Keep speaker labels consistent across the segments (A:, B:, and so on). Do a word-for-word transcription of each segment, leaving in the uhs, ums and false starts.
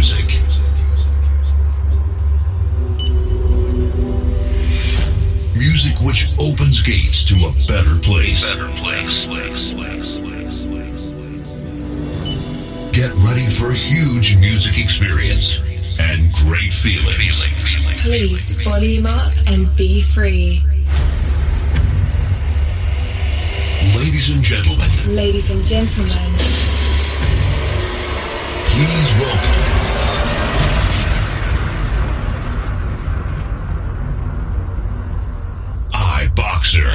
A: music. Music which opens gates to a better place. Better place. Get ready for a huge music experience and great feelings.
B: Please volume up and be free.
A: Ladies and gentlemen.
B: Ladies and gentlemen.
A: Please welcome. iBoxer.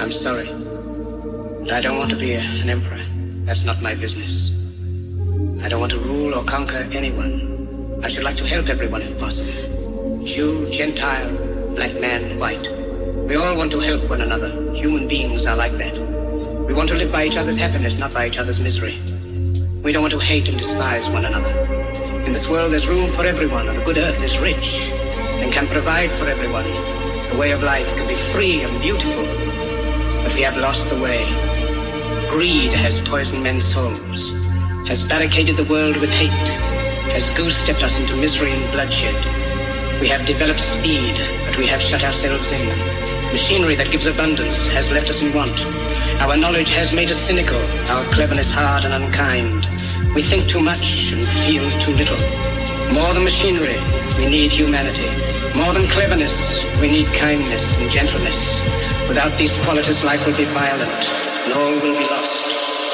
C: I'm sorry. But I don't want to be a, an emperor. That's not my business. I don't want to rule or conquer anyone. I should like to help everyone if possible. Jew, Gentile, black man, white. We all want to help one another. Human beings are like that. We want to live by each other's happiness, not by each other's misery. We don't want to hate and despise one another. In this world there's room for everyone, and the good earth is rich and can provide for everyone. The way of life can be free and beautiful, but we have lost the way. Greed has poisoned men's souls, has barricaded the world with hate, has goose-stepped us into misery and bloodshed. We have developed speed, but we have shut ourselves in. Machinery that gives abundance has left us in want. Our knowledge has made us cynical, our cleverness hard and unkind. We think too much and feel too little. More than machinery, we need humanity. More than cleverness, we need kindness and gentleness. Without these qualities, life will be violent, and all will be lost.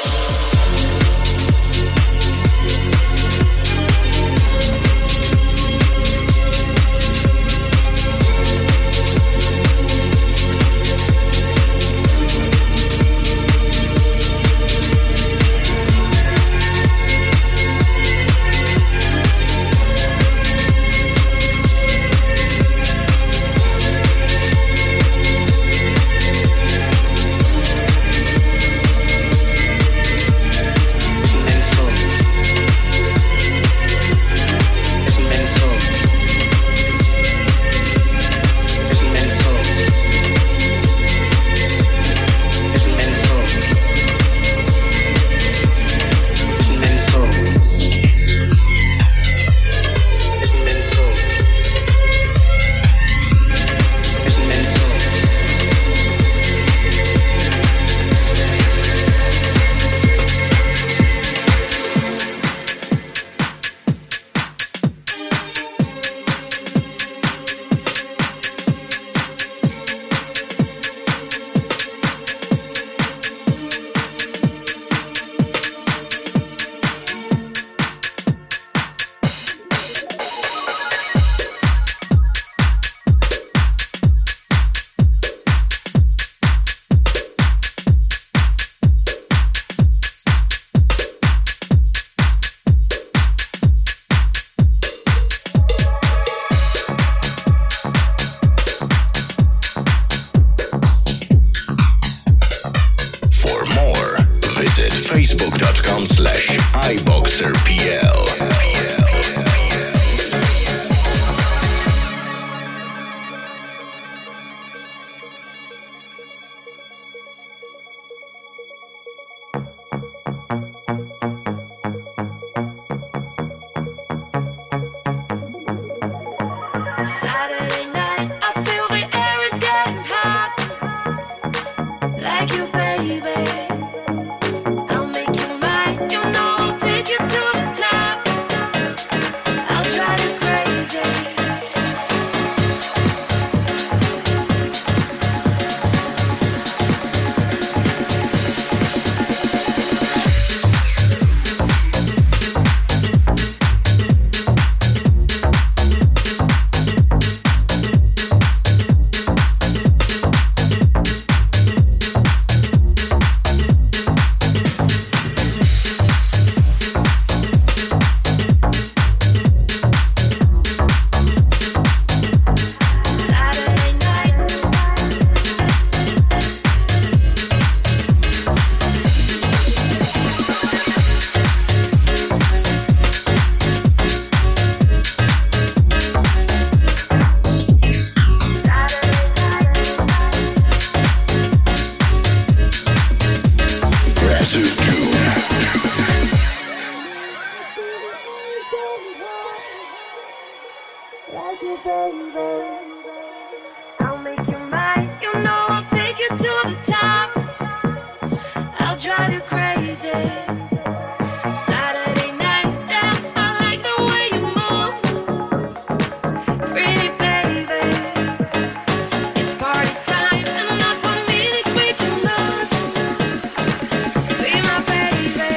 A: facebook.com slash iBoxerPL.
D: Saturday night, I feel the air is getting hot. Like you, baby. I'll make you mine. You know I'll take you to the top. I'll drive you crazy. I'll make you mine. You know I'll take you to the top. I'll drive you crazy. Saturday night dance. I like the way you move. Pretty baby. It's party time, and not one minute we can lose. Be my baby.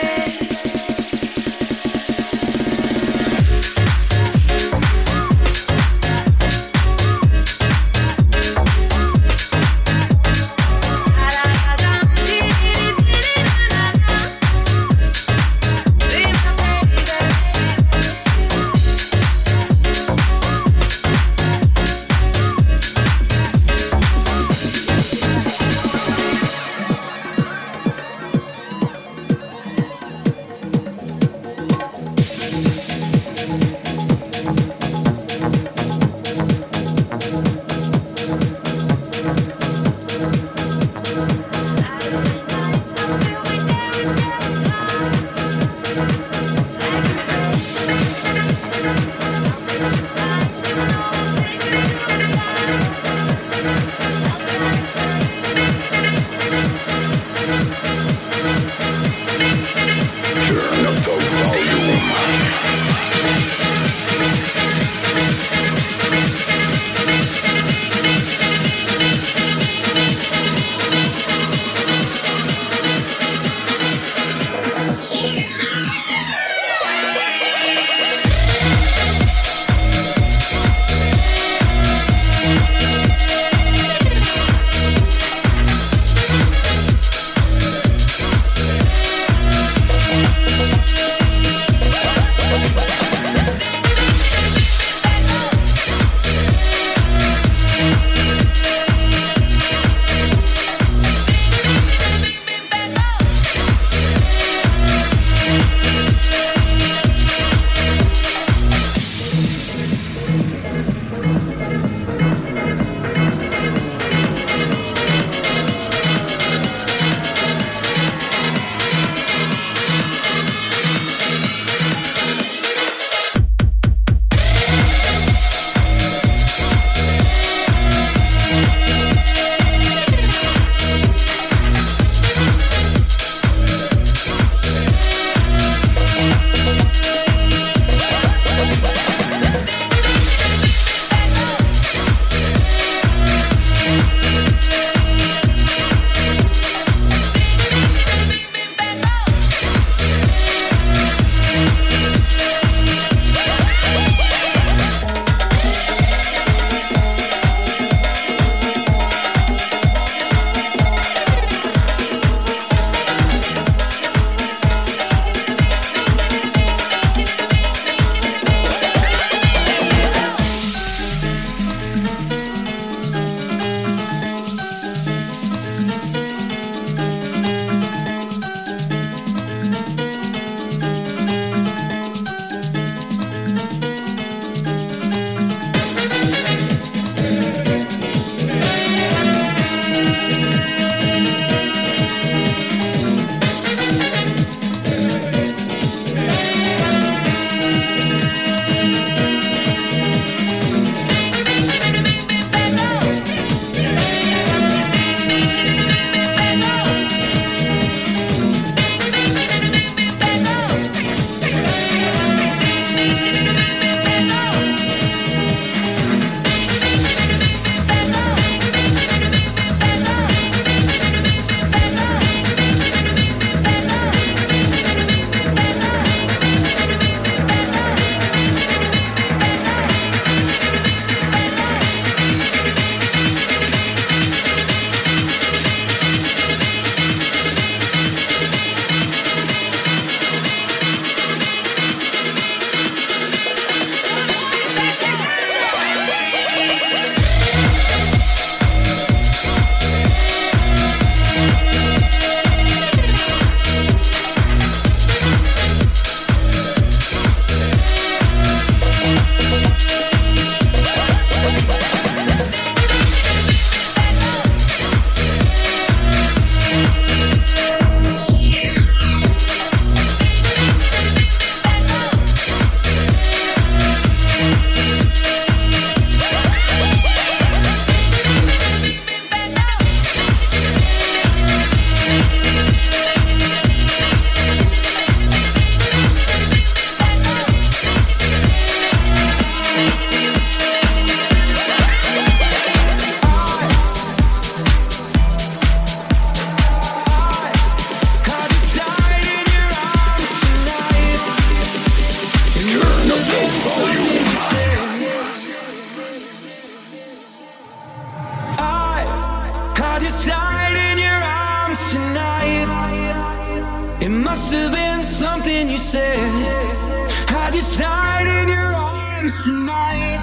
E: have been something you said. I just died in your arms tonight.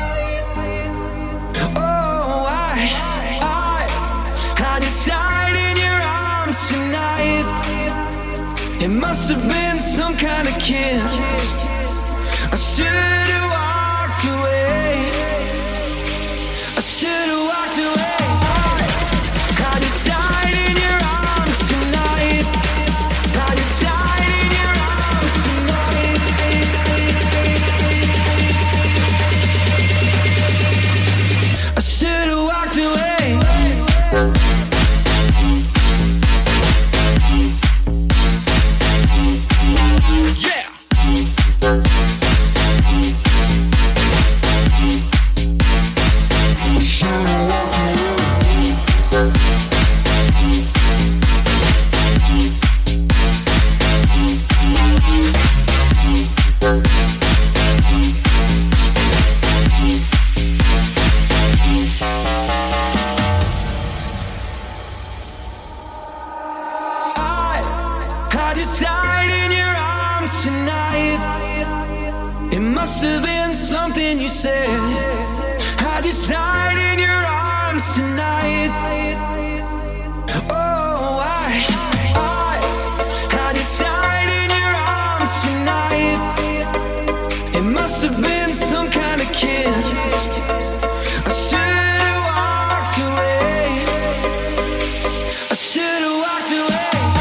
E: Oh, I, I, I just died in your arms tonight. It must have been some kind of kiss. I should have walked away. I should have walked away. I just died in your arms tonight. I just died in your arms tonight. I should have walked away. Yeah. I just died in your arms tonight. It must have been something you said. I just died in your arms tonight. Oh, I, I, I just died in your arms tonight. It must have been some kind of kiss. I should have walked away. I should have walked away.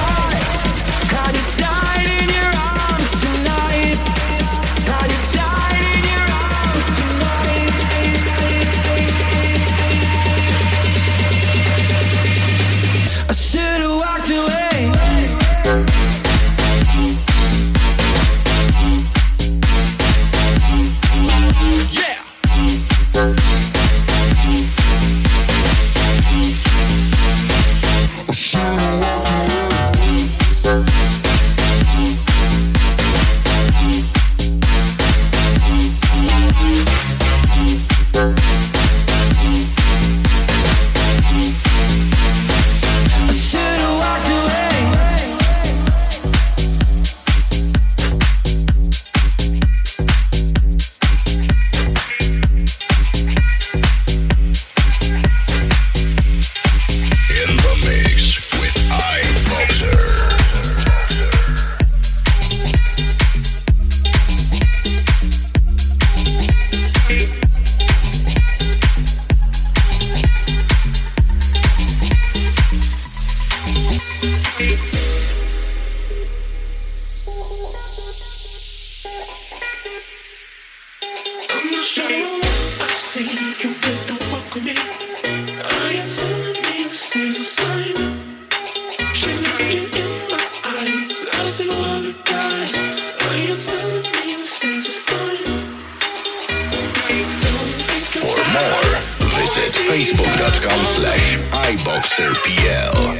A: Facebook.com slash iBoxerPL.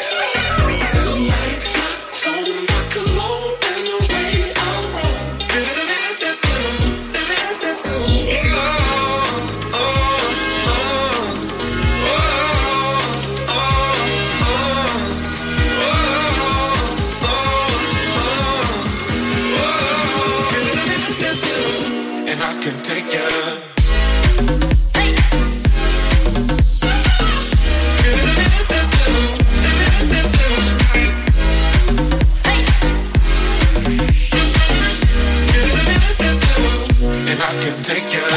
E: And I can take you. Take you.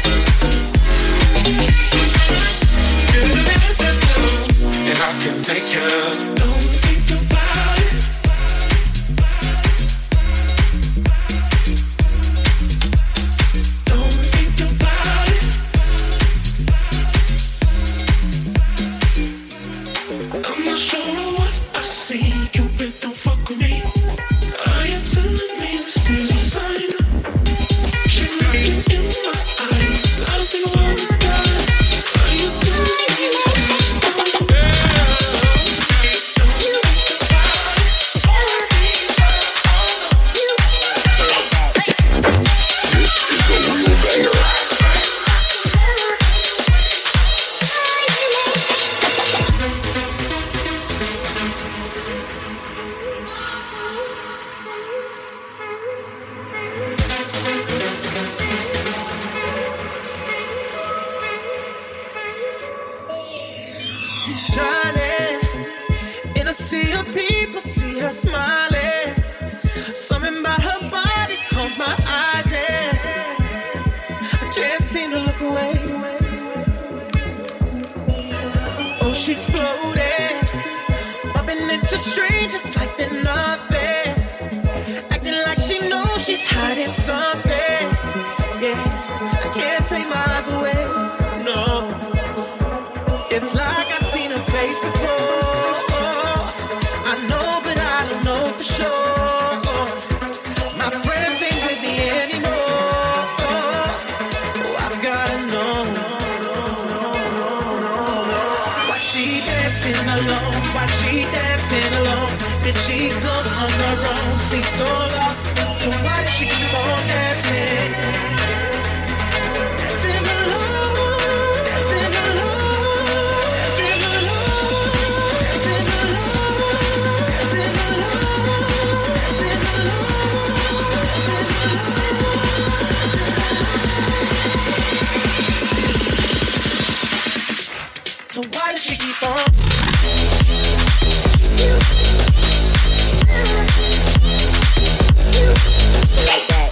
E: And I can take you. She's shining in a sea of people, see her smiling. Something about her body caught my eyes and I can't seem to look away. Oh, she's floating, bumping into strangers like they're nothing, acting like she knows she's hiding something. Yeah, I can't take my eyes away. No, it's like I've seen her face before. I know, but I don't know for sure. My friends ain't with me anymore. Oh, I've gotta know. Why she dancing alone? Why she dancing alone? Did she come on her own? Seems so lost. So why does she keep on dancing? Dancing alone, dancing alone, dancing alone, dancing alone, dancing alone, dancing alone. So why does she keep on? Like that.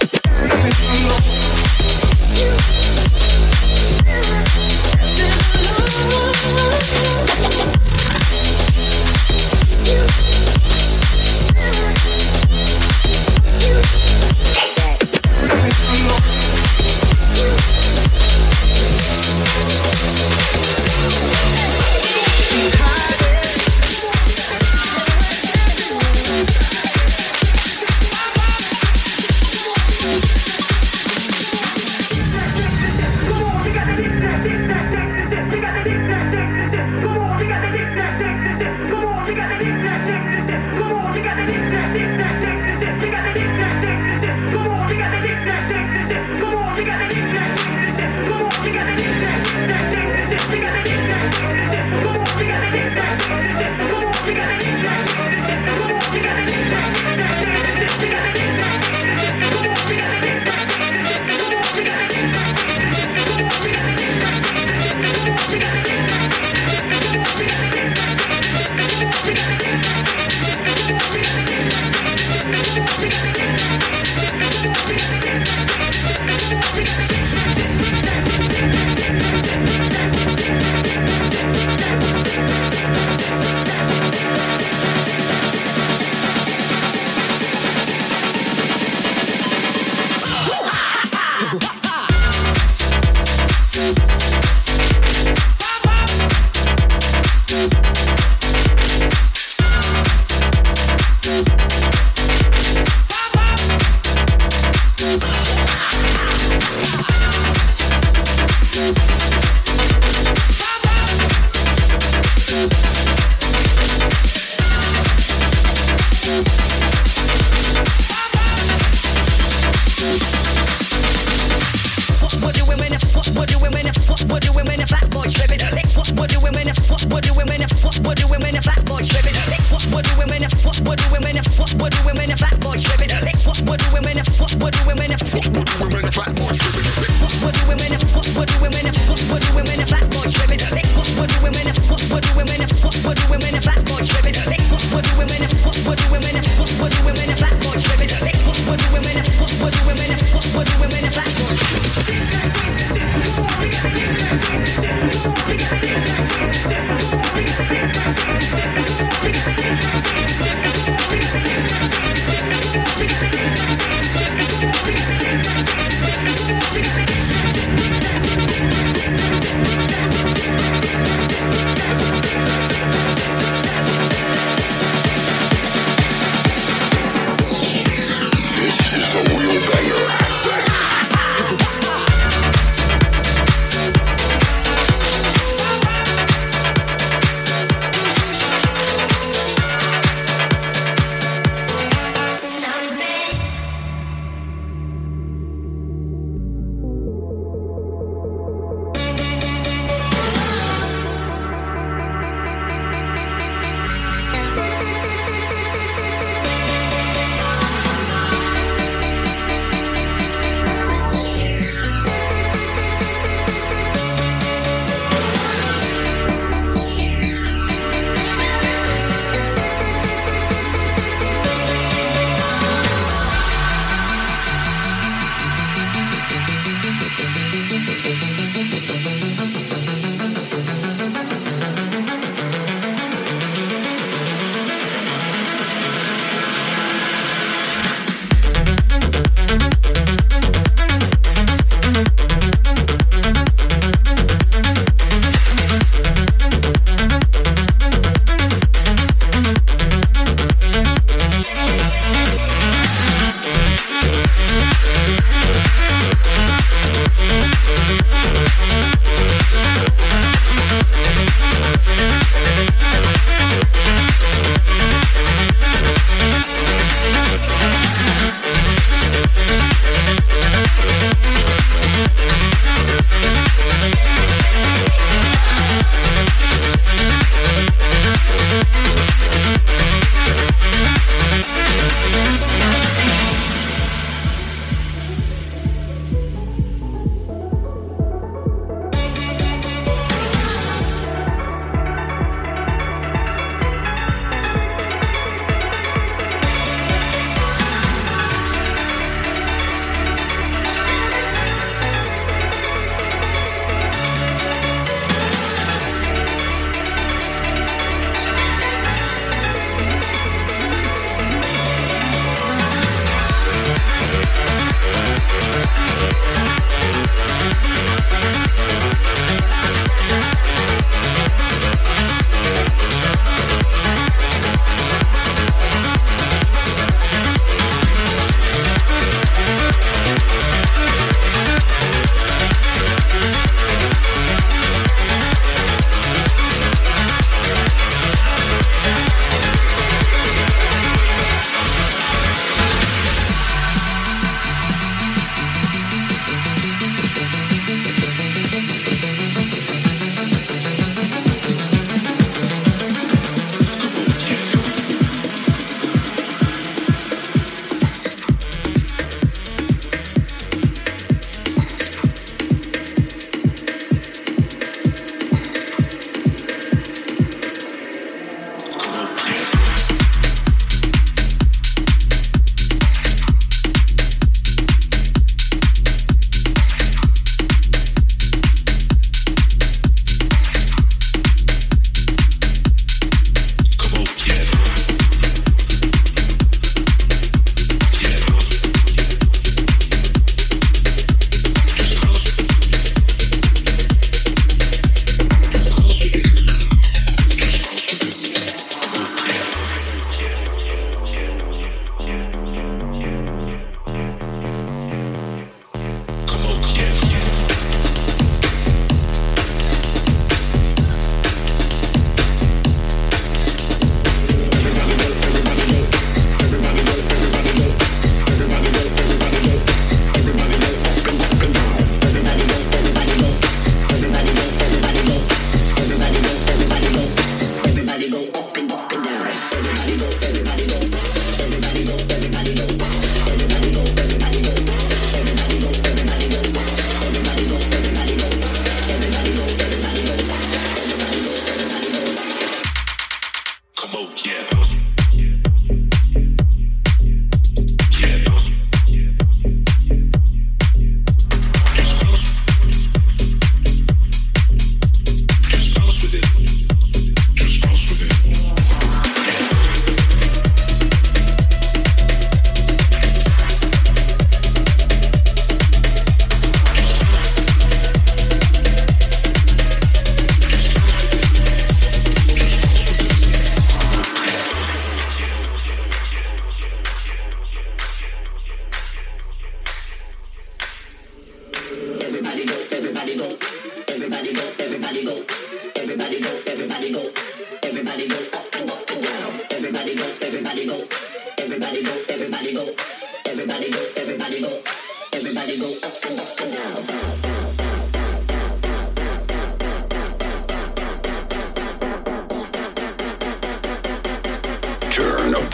D: We'll be right back.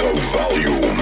A: the volume.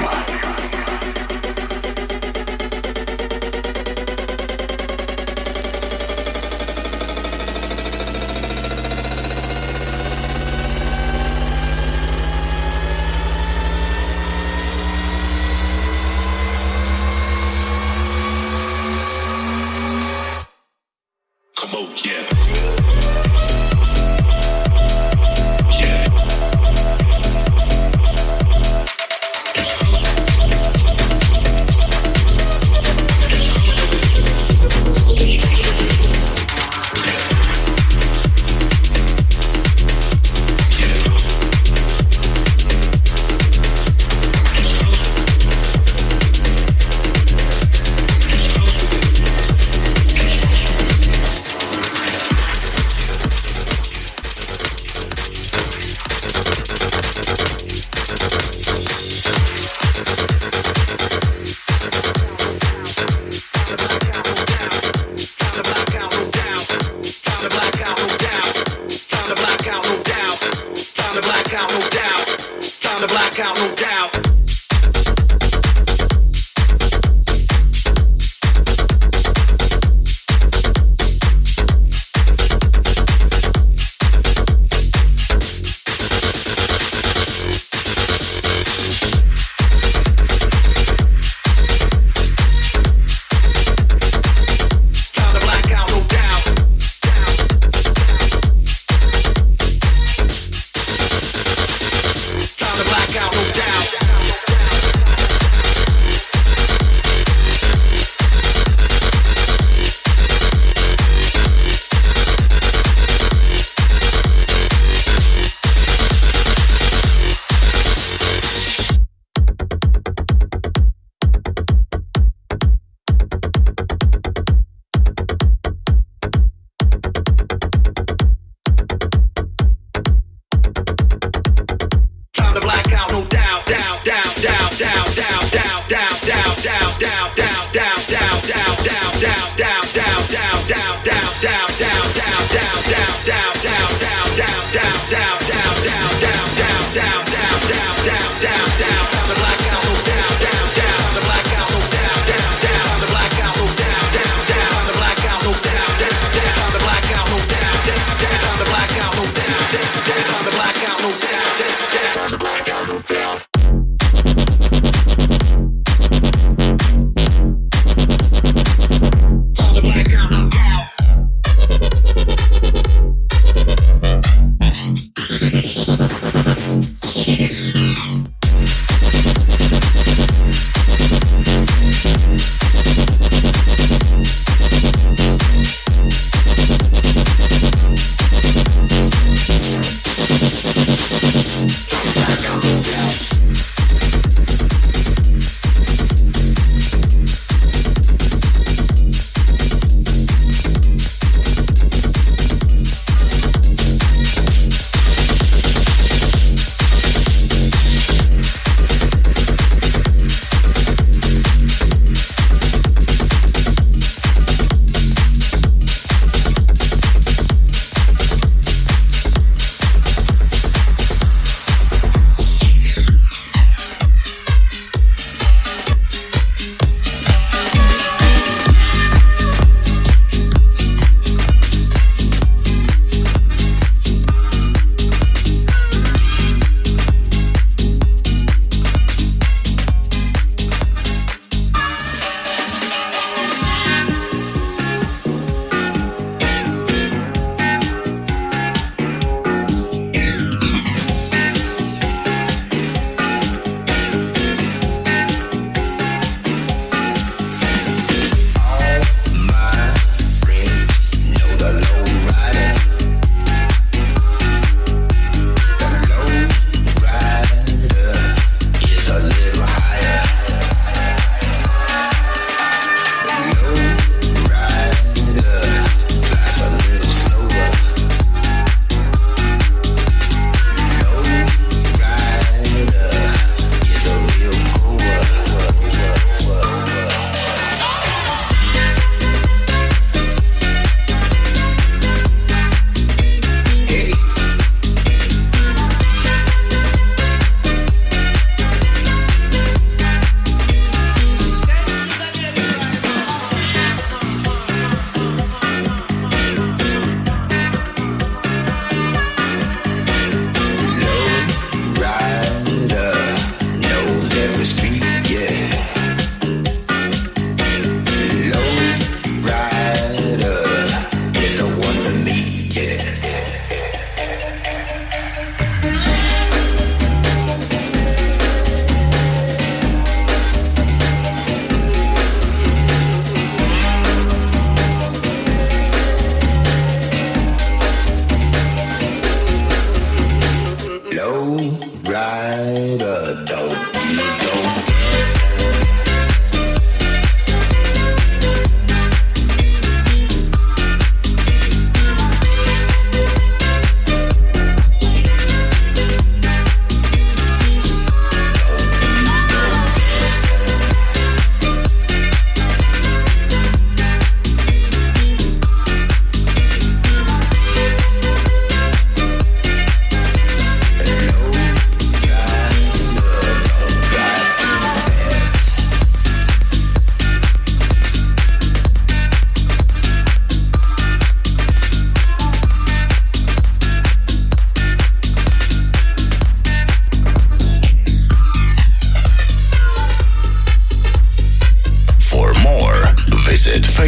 F: Black out, no doubt.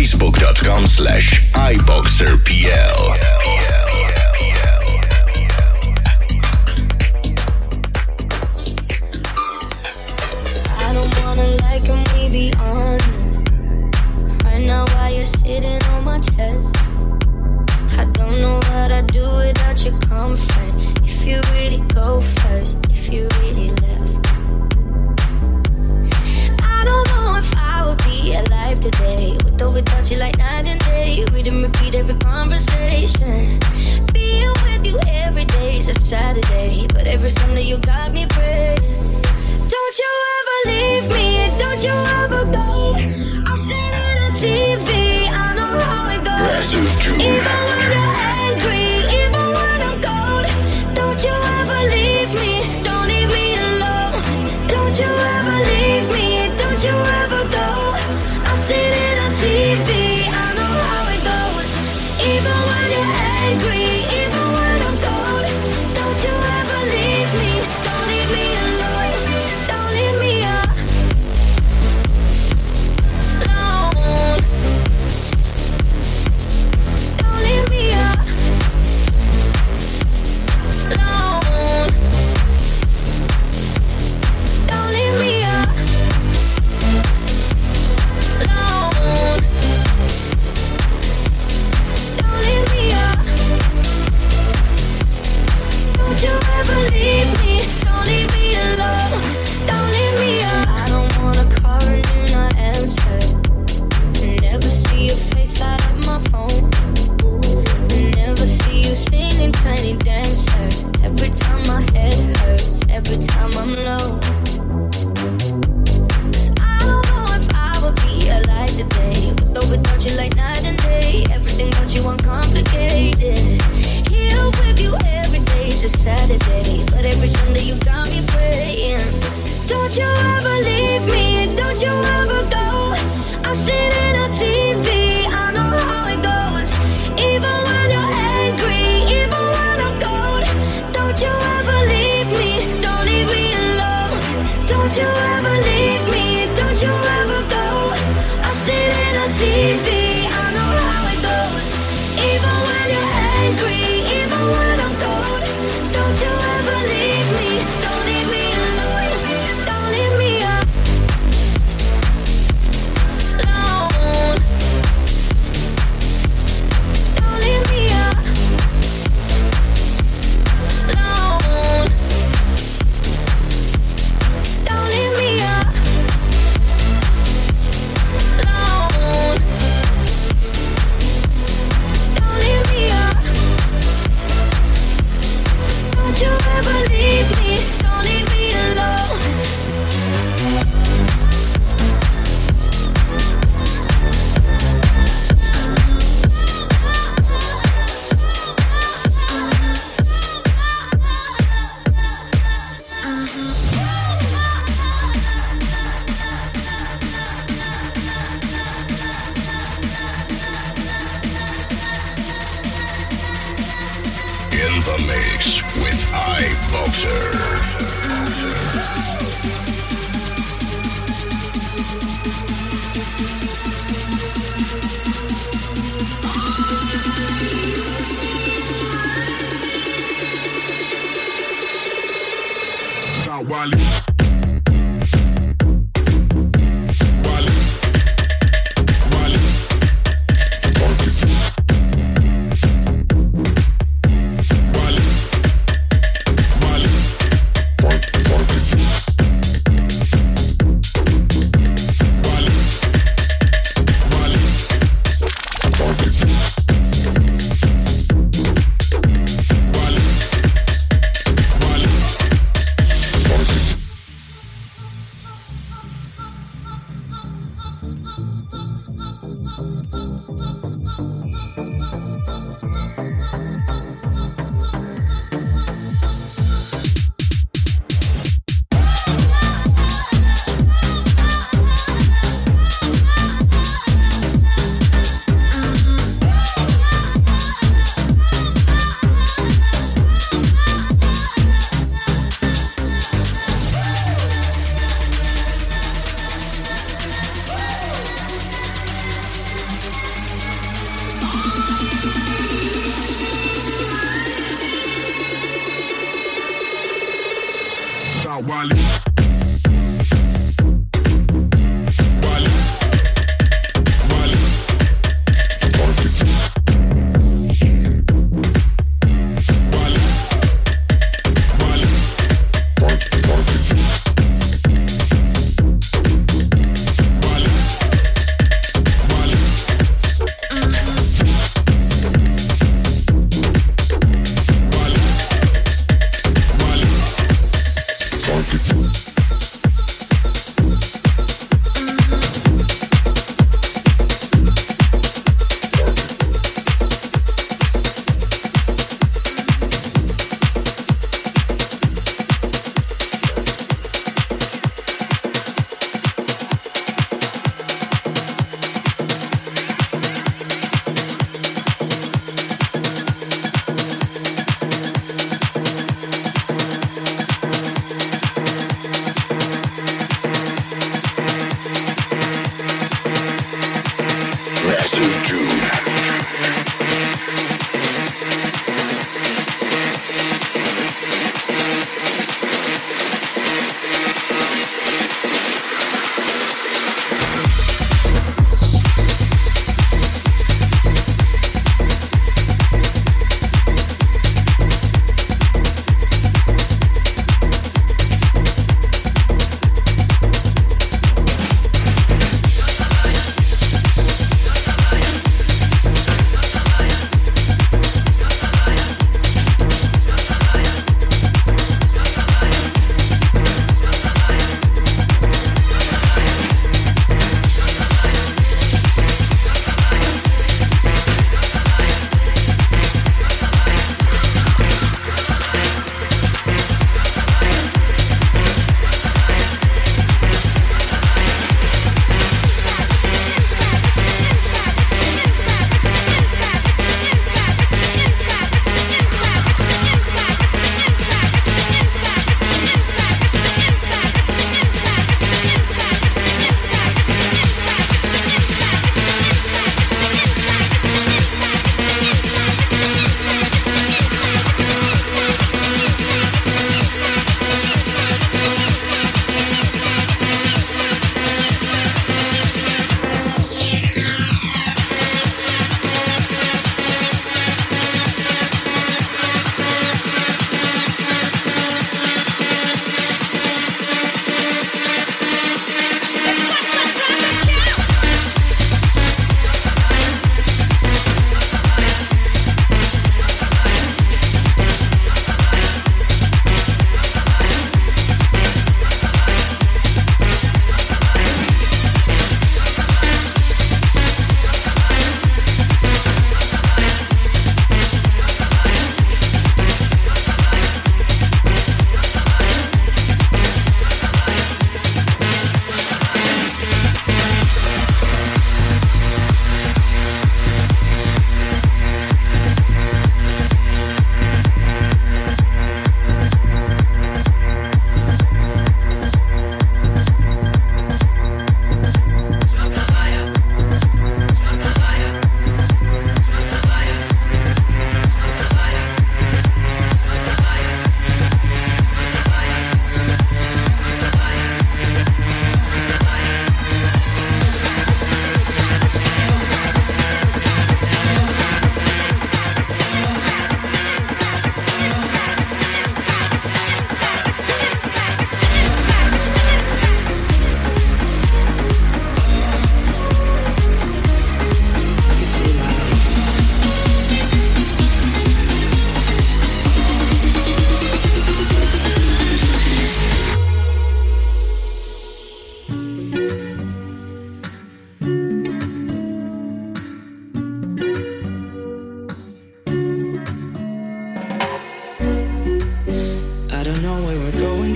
A: facebook.com slash iboxerpl.
D: I don't wanna like him, we be honest. Right now while you're sitting on my chest, I don't know what I'd do without your comfort. If you really go first, if you really left, I don't know if I would be alive today. With or without you like night and day. Read and repeat every conversation. Being with you every day is a Saturday, but every Sunday you got me praying. Don't you ever leave me, don't you ever go. I'm sitting on T V, I know how it goes.
A: Massive June.
D: Even when you're angry, even when I'm cold, don't you ever leave me, don't leave me alone. Don't you ever leave me, don't you ever go. I'm sitting on T V, I know how it goes. Even when you're angry, even when I'm cold, don't you ever leave me, don't leave me alone. Don't leave me alone. Don't leave me alone. Don't leave me alone. Don't leave me alone. Don't you ever leave me, don't leave me alone. Don't leave me alone. I don't wanna call and you not answer. Never see your face light up my phone. Never see you singing Tiny Dancer. Every time my head hurts, every time I'm low. 'Cause I don't know if I would be alive today. With or without you like night and day. Everything about you uncomplicated. Here with you every day is a Saturday, but every Sunday you got me praying. Don't you ever leave me, don't you ever go. I'm sitting on T V, I know how it goes. Even when you're angry, even when I'm cold, don't you ever leave me, don't leave me alone. Don't you ever leave me, don't you ever go. I'm sitting on T V, I know how it goes. Even when you're angry, even when I'm cold, don't you ever leave me, don't leave me alone. Don't leave me alone. Don't leave me alone. Don't leave me alone. Don't leave me alone. Don't you ever leave me, don't leave me alone.
A: In the mix with iBoxer. Wally.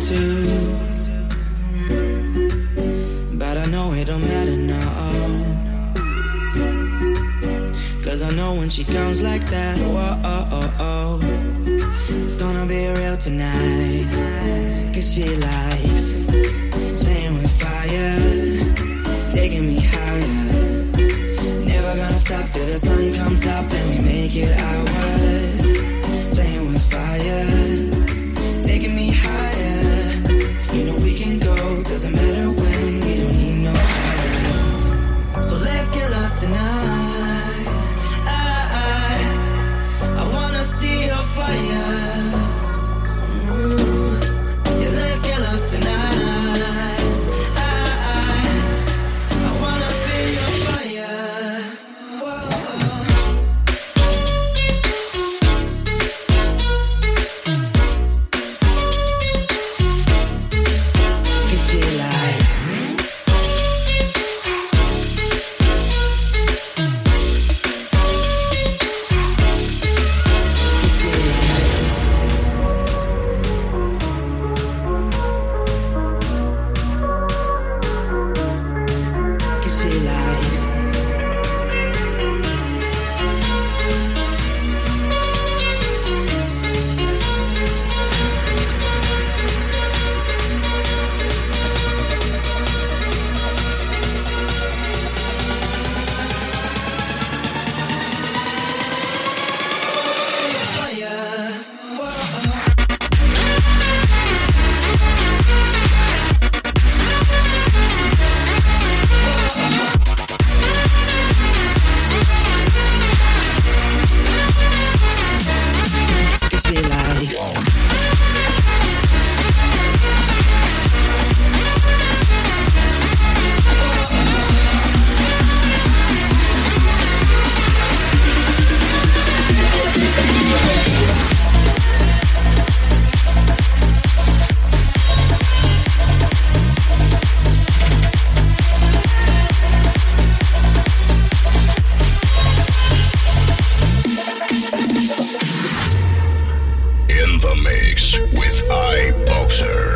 F: to. But I know it don't matter now, 'cause I know when she comes like that, whoa, oh, oh, oh, it's gonna be real tonight. 'Cause she likes playing with fire, taking me higher. Never gonna stop till the sun comes up and we make it ours. Playing with fire, taking me higher. You know we can go, doesn't matter when, we don't need no others. So let's get lost tonight. I, I, I wanna see your fire. Ooh. Yeah, let's get lost tonight. I, I, I wanna feel your fire. Whoa. Cause she like Cause she like Cause she likes fire. Whoa. Cause she likes
A: In the mix with iBoxer.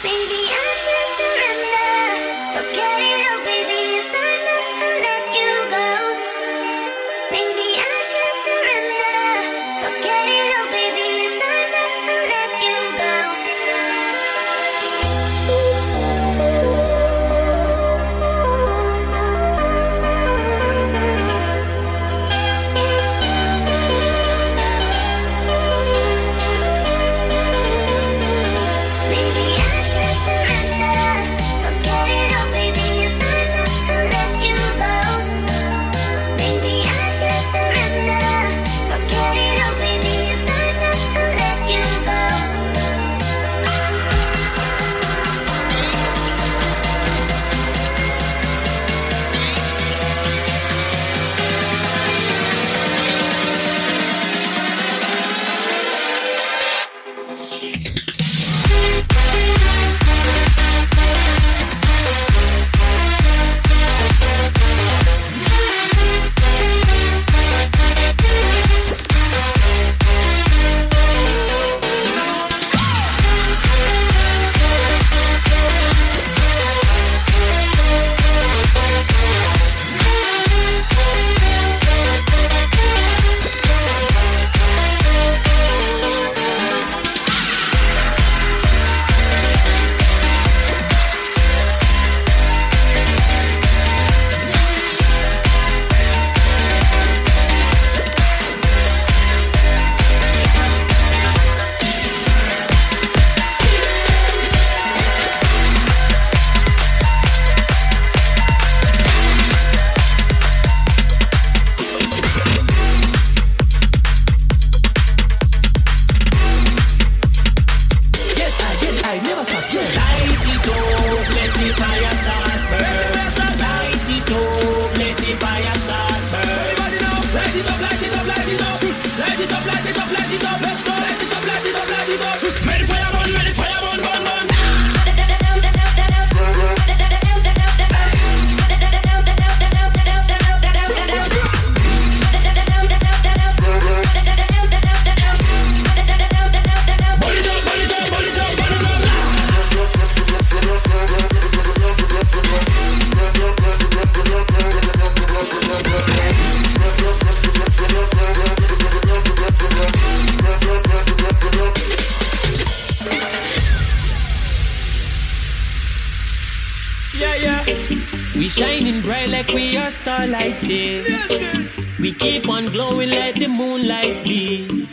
G: We shining bright like we are starlights, yeah. We keep on glowing like the moonlight be.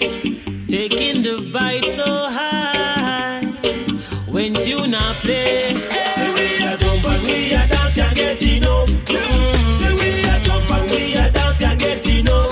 G: Taking the vibe so high. When you not play, say we a jump and we a dance, can't get enough. Mm. Say we a jump and we a dance, can't get enough.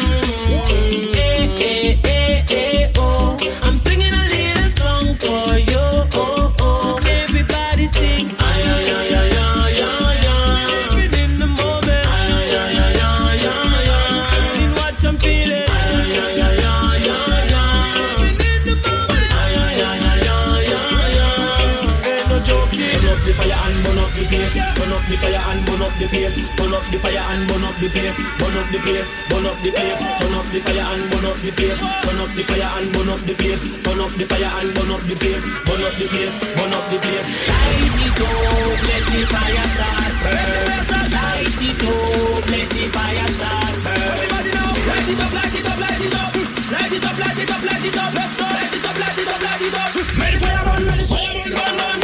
G: Mm. Eh, eh, eh, eh, oh. I'm singing a little song for you. Oh, oh. Everybody sing. Ay, ay, ay, ay, ay, ay, ay. Living in the moment. Ay, ay, ay, ay, ay, ay, ay. Feeling what I'm feeling. Ay, ay, ay, ay, ay, ay, ay. Living in the moment. Ay, ay, ay, ay, ay, ay, ay. Ain't no joking. Turn up the fire and burn up the place. Turn up the fire and burn up the place. Turn up the fire and burn up the place. Burn up the place. Burn up the place. Turn up the fire and burn up the place. Turn up the fire and burn up the place. Turn up the fire and burn up the place. Burn up the place. Burn up the place. Light it up, let the fire start burn. Light it up, let the fire start burn. Everybody now, light it up, light it up, light it up. Light it up, light it up, light it up. Let's go, light it up, light it up, light it up. Let the fire burn, let the fire burn, burn, burn.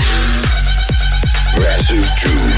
A: Massive June.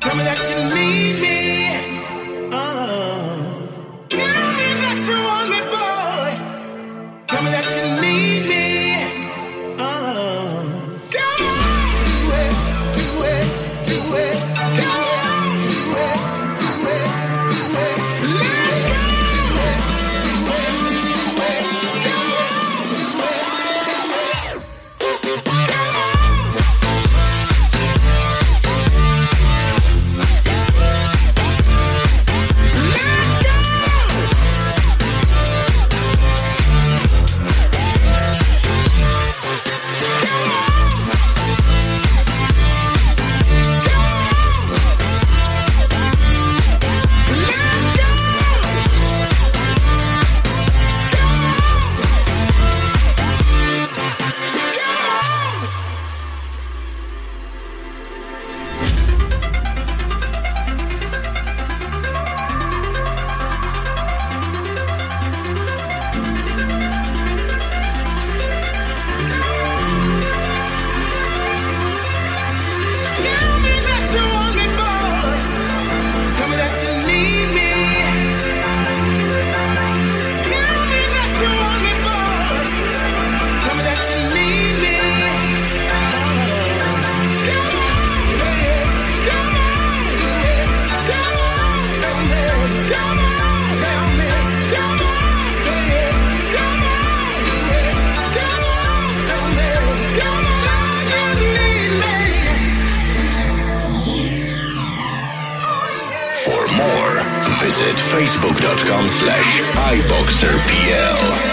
A: Visit facebook.com slash iBoxerPL.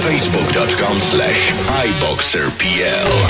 A: facebook.com slash iBoxerPL.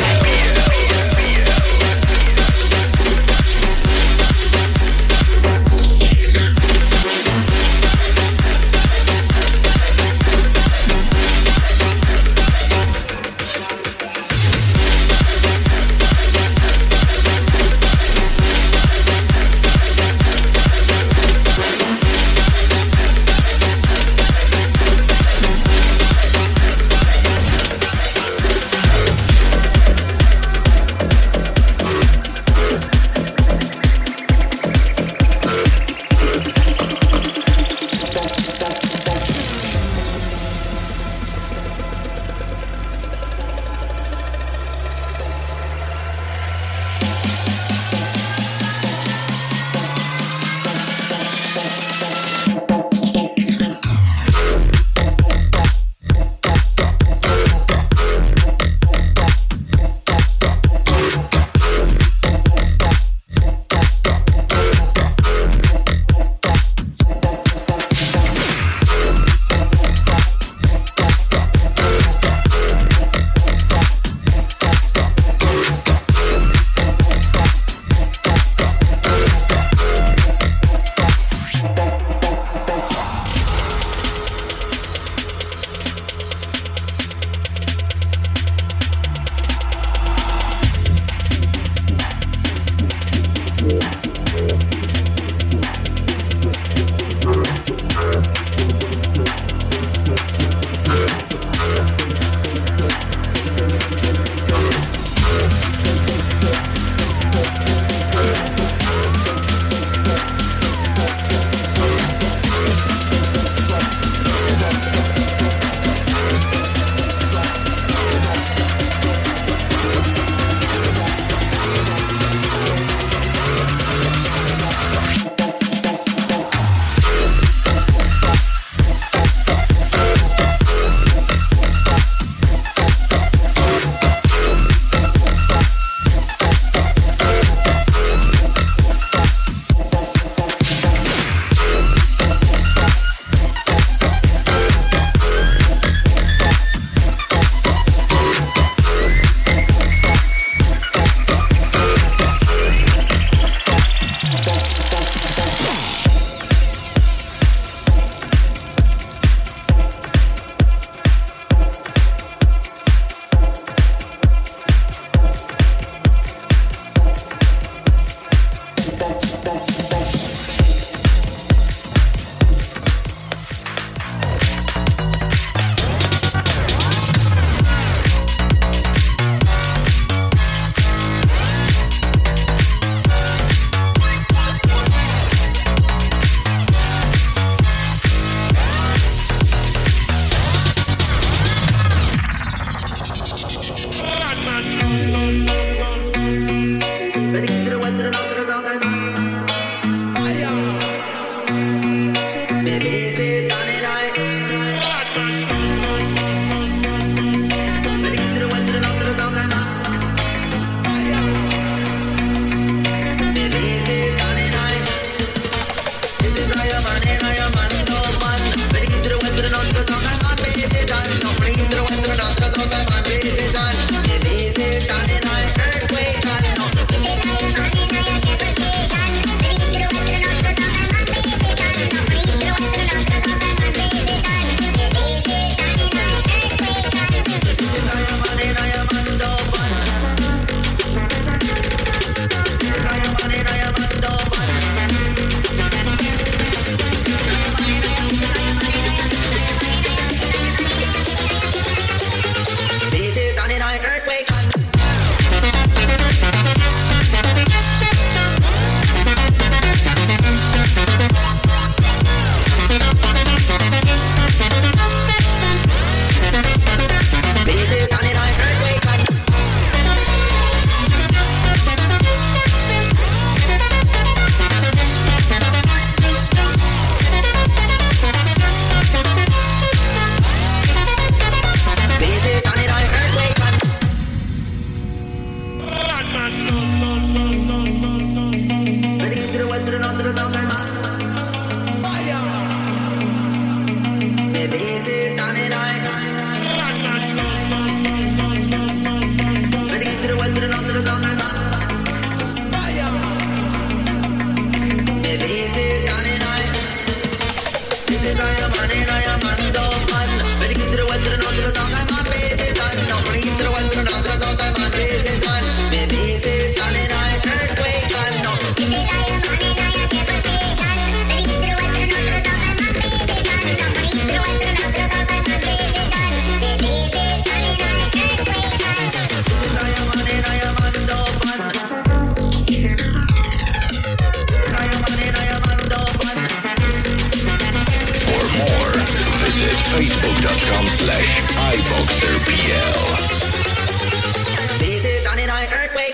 A: facebook.com slash iboxerpl.
F: Visit on an earthquake.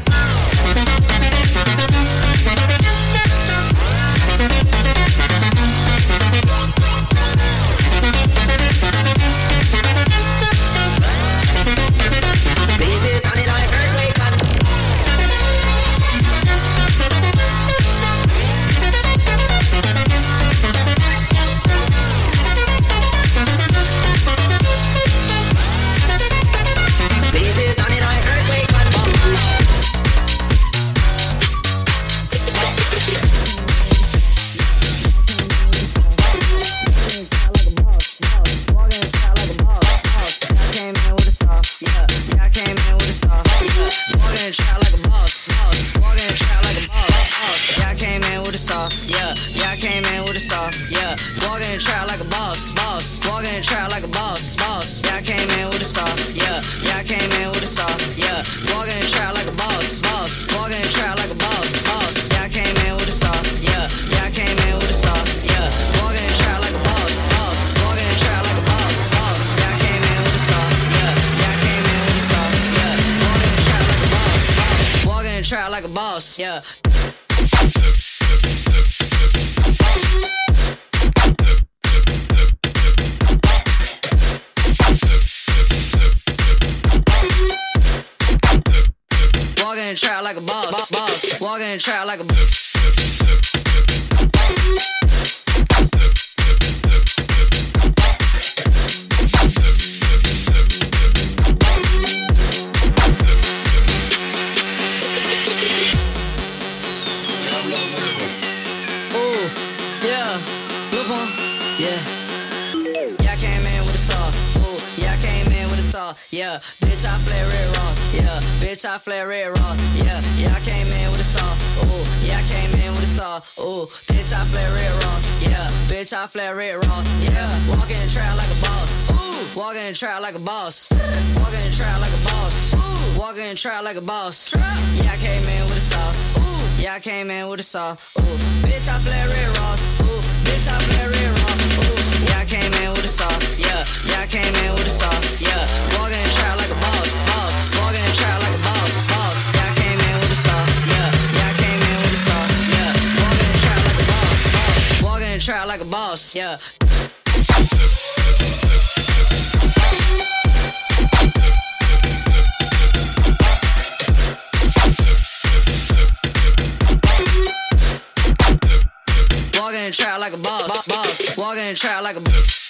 F: Like a boss, yeah. Walking in the trap like a boss, boss. Walking in the trap like a boss. Yeah, bitch, I flare it raw. Yeah, bitch, I flare it raw. Yeah, yeah, I came in with a saw. Ooh, yeah, I came in with a saw. Ooh, bitch, I flare it raw. Yeah, bitch, I flare it raw. Yeah, walking in the trap like a boss. Ooh, walking in the trap like a boss. Walking in the trap like a boss. Ooh, walking in the trap like a boss. Yeah, I came in with a sauce. Ooh, yeah, I came in with a saw. Ooh, bitch, I flare it raw. Ooh, bitch, I flare it raw. Ooh, yeah, I came in with a saw. Yeah, yeah, I came in with a saw. Yeah, walking in the trap like a boss, boss. Walking in the trap like a boss, boss. Yeah, I came in with a saw. Yeah, yeah, I came in with a saw. Yeah, walking in the trap like a boss, boss. Walking in the trap like a boss. Yeah. Walking in the trap like a boss, boss. Walking in the trap like a boss.